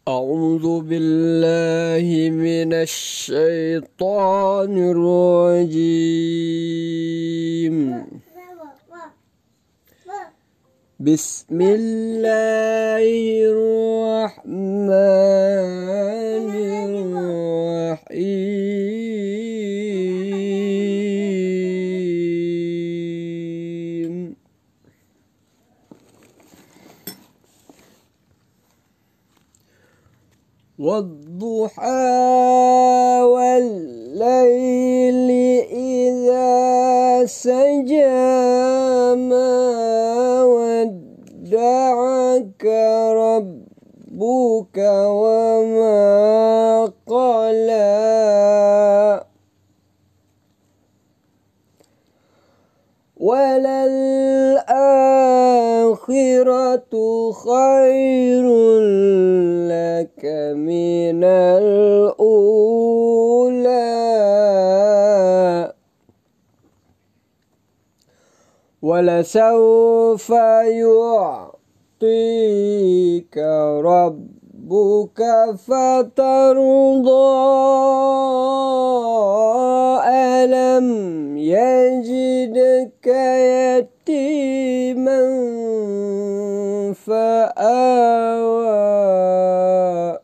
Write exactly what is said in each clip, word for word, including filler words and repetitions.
أعوذ بالله من الشيطان الرجيم. بسم الله الرحمن الرحيم. والضحى والليل إذا سجى ما ودعك ربك وما قلى وللآخرة خير لك من الأولى ولسوف يعطيك ربك فترضى ألم يجدك يتيما فآوى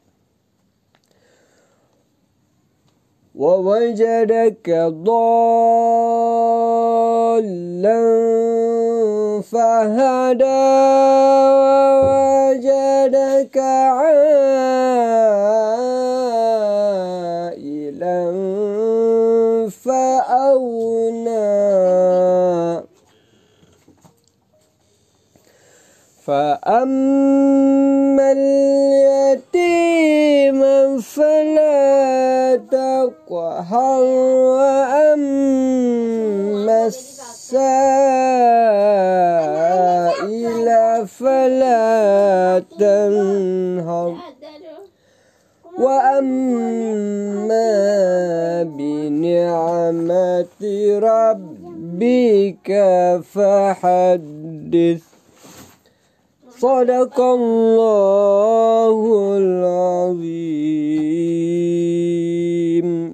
ووجدك ضالا فهدى ووجدك عائلا فأغنى فأما اليتيم فلا تقهر وأما السائل فلا تنهر وأما بنعمة ربك فحدث. Sadaqallahul azim.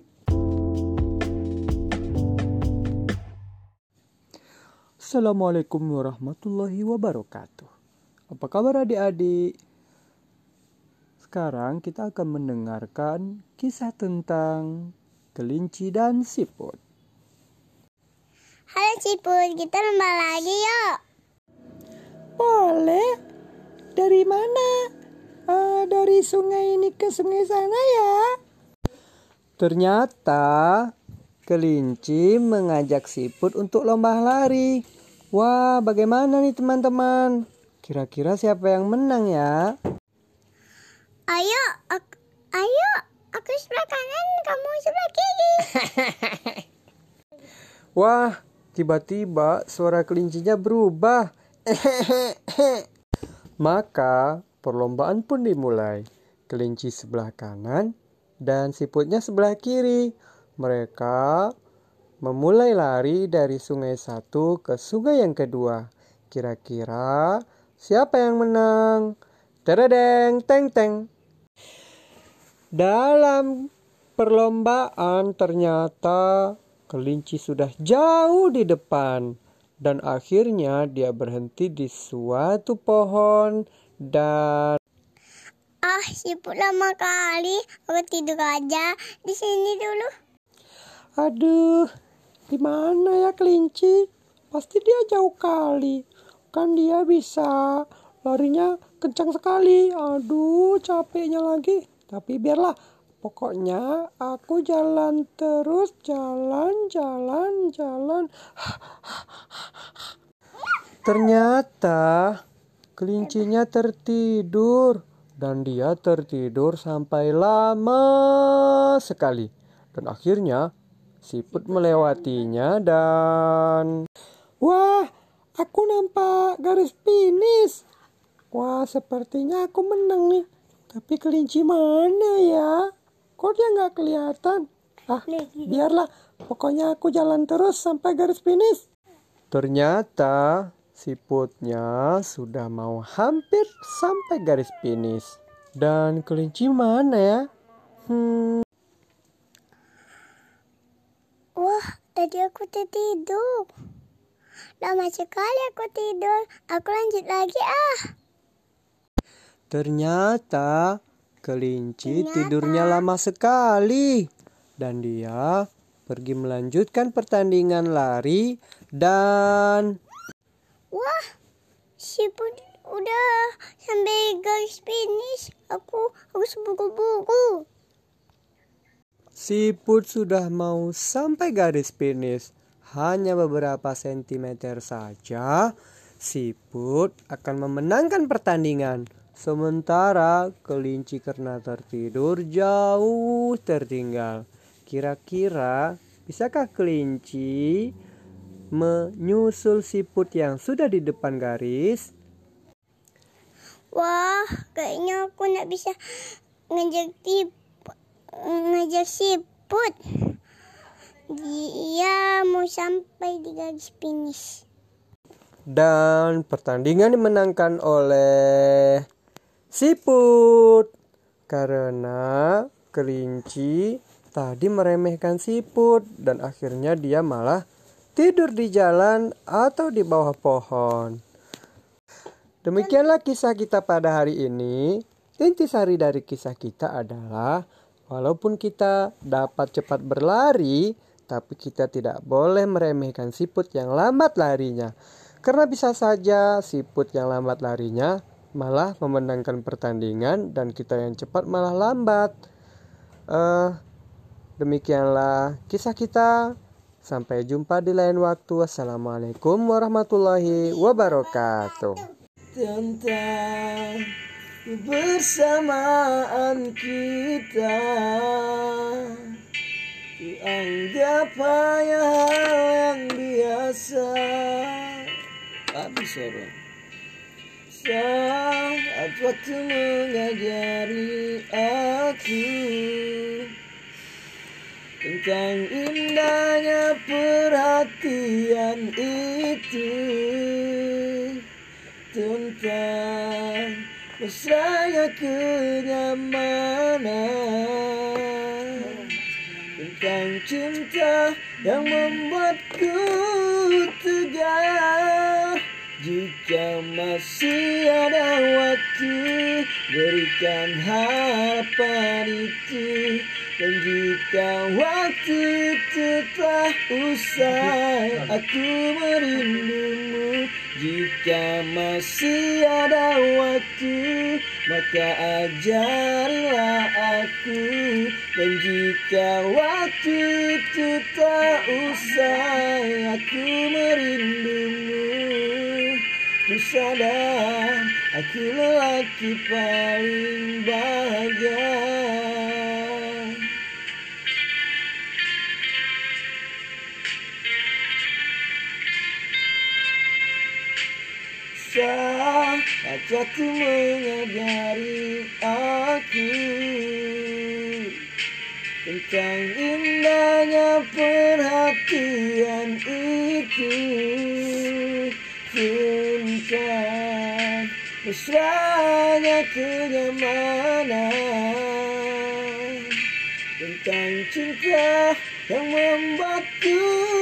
Assalamualaikum warahmatullahi wabarakatuh. Apa kabar adik-adik? Sekarang kita akan mendengarkan kisah tentang kelinci dan siput. Halo siput, kita lomba lagi yuk. Boleh. Dari mana? Uh, dari sungai ini ke sungai sana ya. Ternyata kelinci mengajak siput untuk lomba lari. Wah, bagaimana nih teman-teman? Kira-kira siapa yang menang ya? Ayo, aku, ayo, aku sebelah kanan, kamu sebelah kiri. Wah, tiba-tiba suara kelincinya berubah. Maka perlombaan pun dimulai. Kelinci sebelah kanan dan siputnya sebelah kiri. Mereka memulai lari dari sungai satu ke sungai yang kedua. Kira-kira siapa yang menang? Teredeng, teng teng. Dalam perlombaan ternyata kelinci sudah jauh di depan. Dan akhirnya dia berhenti di suatu pohon dan... Ah, siput lama kali. Aku tidur aja di sini dulu. Aduh, di mana ya kelinci? Pasti dia jauh kali. Kan dia bisa larinya kencang sekali. Aduh, capeknya lagi. Tapi biarlah. Pokoknya aku jalan terus, jalan, jalan, jalan. Ternyata kelincinya tertidur dan dia tertidur sampai lama sekali. Dan akhirnya siput melewatinya dan... Wah, aku nampak garis finish. Wah, sepertinya aku menang nih. Tapi kelinci mana ya? Kok dia nggak kelihatan? Ah, biarlah. Pokoknya aku jalan terus sampai garis finish. Ternyata siputnya sudah mau hampir sampai garis finish. Dan kelinci mana ya? Hmm. Wah, tadi aku tertidur. Lama sekali aku tidur. Aku lanjut lagi ah. Ternyata kelinci Ternyata. tidurnya lama sekali. Dan dia pergi melanjutkan pertandingan lari dan... Wah, siput udah sampai garis finish. Aku harus buru-buru. Siput sudah mau sampai garis finish. Hanya beberapa sentimeter saja, siput akan memenangkan pertandingan. Sementara kelinci karena tertidur jauh tertinggal. Kira-kira bisakah kelinci menyusul siput yang sudah di depan garis? Wah, kayaknya aku nggak bisa ngejar tip, ngejar siput. Dia mau sampai di garis finish. Dan pertandingan dimenangkan oleh siput. Karena kelinci tadi meremehkan siput dan akhirnya dia malah tidur di jalan atau di bawah pohon. Demikianlah kisah kita pada hari ini. Intisari dari kisah kita adalah walaupun kita dapat cepat berlari, tapi kita tidak boleh meremehkan siput yang lambat larinya. Karena bisa saja siput yang lambat larinya malah memenangkan pertandingan dan kita yang cepat malah lambat. Uh, demikianlah kisah kita. Sampai jumpa di lain waktu. Wassalamualaikum warahmatullahi wabarakatuh. Tentang kebersamaan kita, dianggap hanya hal yang biasa. Habis orang saat waktu mengajari aku tentang indahnya perhatian itu, tentang mesranya kenyamanan, tentang cinta yang membuatku tegar. Jika masih ada waktu, berikan harapan itu. Dan jika waktu itu telah usai, aku merindumu. Jika masih ada waktu, maka ajarilah aku. Dan jika waktu itu telah usai, aku merindumu. Ku sadar aku lelaki paling bahagia. Saat aku mengajari aku tentang indahnya perhatian itu, tentang mesranya kenyamanan, tentang cinta yang membuatku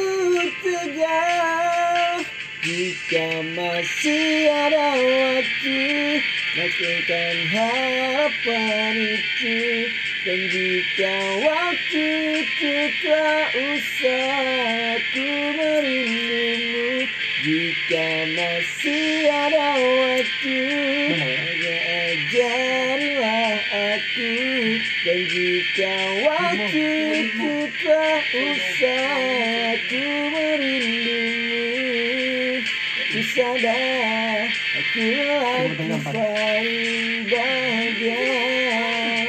tegar. Jika masih ada waktu, lakukan harapan itu. Dan jika waktu itu telah usai, aku merindumu. Jika masih ada waktu, hanya ajarilah aku. Dan jika waktu itu telah usai, aku merindumu. Ku sadar aku lagi paling bahagia.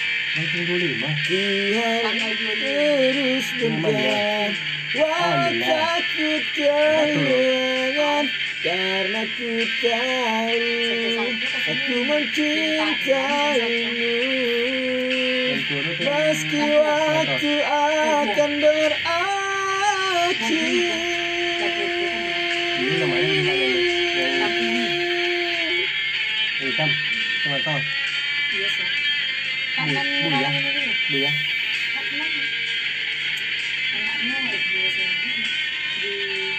Tuhan terus berjalan, walau ku kehilangan. Karena ku tahu aku mencintaimu. Meski waktu akan berakhir, Hitam, tengah-tengah. Biasa. Kapan Bu ya? orang ini dulu? Bu ya? Kapan? Anaknya S dua S M P di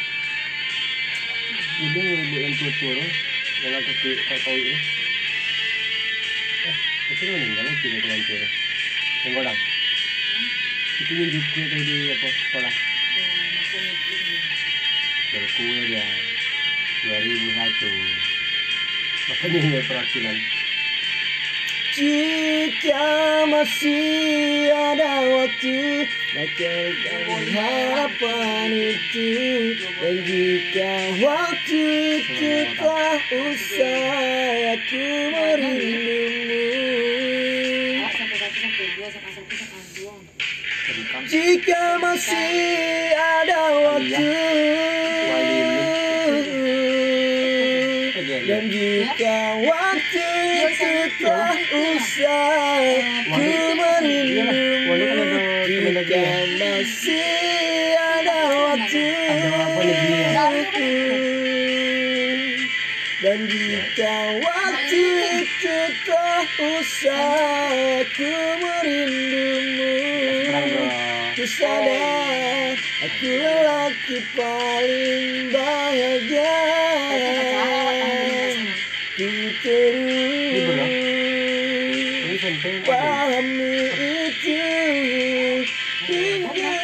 Ini bu yang tua-tua loh. Yang aku kau ini. Eh, itu kan meninggal lagi di dalam tua. Yang godang. Itu nunjuk kue tadi di apa sekolah. Berkue dia dua ribu satu. Makanya ini perwakilan. Jika masih ada waktu, bacakan harapan itu. Dan jika waktu itu telah usai, aku merindumu. sampai satu sampai dua sampai satu sampai dua. Jika masih ada waktu, dan jika waktu itu telah usai, ku merindumu. Jika masih ada waktu, dan jika waktu itu telah usai, ku merindumu. Ku sadar aku lelaki paling bahagia. Ku terus pahami itu hingga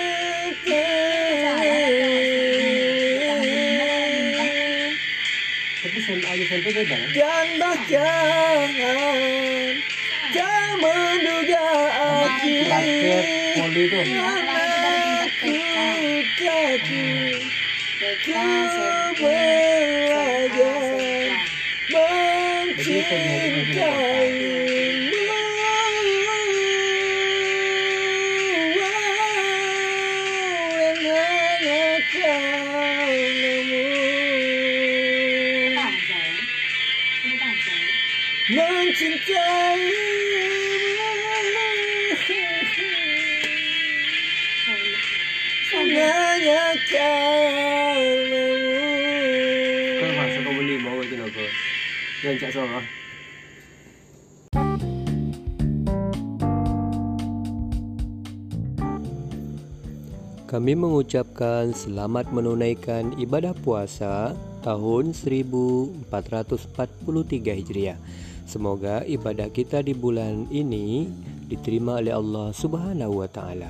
dan bahkan tak menduga aku aku takut ku belajar mencintaimu. Yang hanya karenamu mencintaimu. Hanya karenamu. Kau masuk kau beli mau itu apa? Yang cak soal. Kami mengucapkan selamat menunaikan ibadah puasa tahun seribu empat ratus empat puluh tiga Hijriah. Semoga ibadah kita di bulan ini diterima oleh Allah Subhanahu wa taala.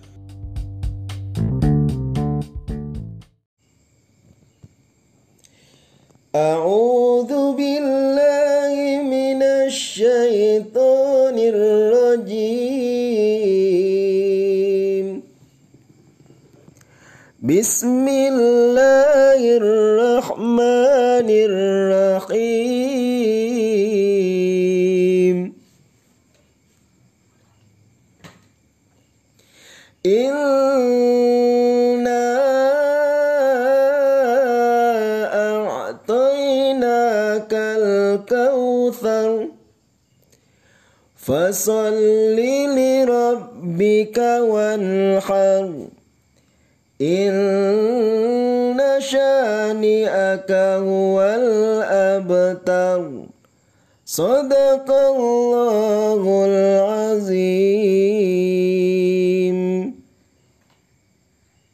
A'udzu billahi minasy syaithanir rajim. Bismillahirrahmanirrahim. Inna a'tainakal kautsar fasalli li rabbika wanhar. Inna syani'aka huwal abtar. Sadaqallahul azim.